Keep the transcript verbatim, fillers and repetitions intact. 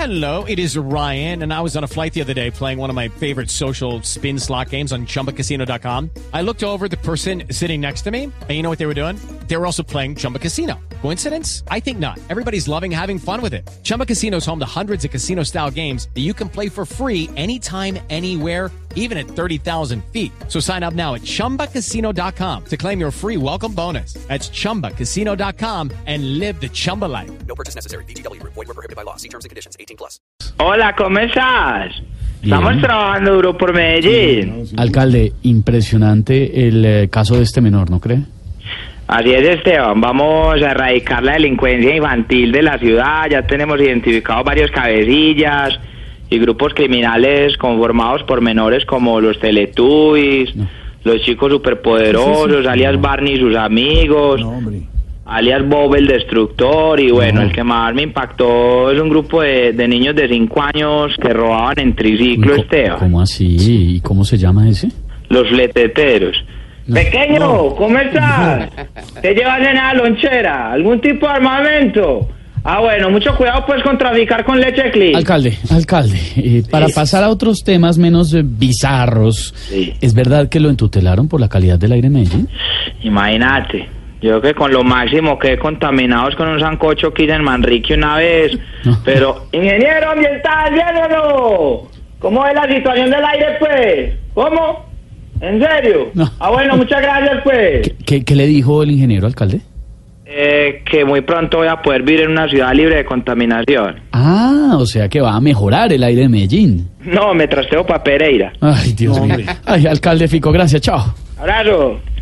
Hello, it is Ryan, and I was on a flight the other day playing one of my favorite social spin slot games on Chumba Casino dot com. I looked over at the person sitting next to me, and you know what they were doing? They were also playing Chumba Casino. Coincidence? I think not. Everybody's loving having fun with it. Chumba Casino is home to hundreds of casino-style games that you can play for free anytime, anywhere, even at thirty thousand feet. So sign up now at Chumba Casino dot com to claim your free welcome bonus. That's Chumba Casino dot com and live the Chumba life. No purchase necessary. V G W. Void where prohibited by law. See terms and conditions. eighteen plus. Hola, ¿cómo estás? Estamos Bien. trabajando duro por Medellín. Alcalde, impresionante el eh, caso de este menor, ¿no cree? Así es, Esteban. Vamos a erradicar la delincuencia infantil de la ciudad. Ya tenemos identificados varios cabecillas y grupos criminales conformados por menores como los Teletubbies, no. los chicos superpoderosos, sí, sí, sí. alias no. Barney y sus amigos, no, alias Bob el Destructor, y bueno, no. el que más me impactó es un grupo de, de niños de cinco años que robaban en triciclo, ¿Cómo, Esteban. ¿Cómo así? ¿Y cómo se llama ese? Los Fleteteros. No. Pequeño, no. ¿cómo estás? No. ¿Te llevas en la lonchera? ¿Algún tipo de armamento? Ah, bueno, mucho cuidado pues con traficar con leche clean. Alcalde, alcalde, eh, sí. para pasar a otros temas menos eh, bizarros, sí. ¿es verdad que lo entutelaron por la calidad del aire en Medellín? Imagínate, yo que con lo máximo quedé contaminados con un sancocho que hice en Manrique una vez, no. pero, ingeniero ambiental, ¿viéndolo? ¿Cómo es la situación del aire pues? ¿Cómo? ¿En serio? No. Ah, bueno, muchas gracias pues. ¿Qué, qué, qué le dijo el ingeniero, alcalde? Eh, que muy pronto voy a poder vivir en una ciudad libre de contaminación. Ah, o sea que va a mejorar el aire de Medellín. No, me trasteo para Pereira. Ay, Dios mío. Ay, alcalde Fico, gracias, chao. Abrazo.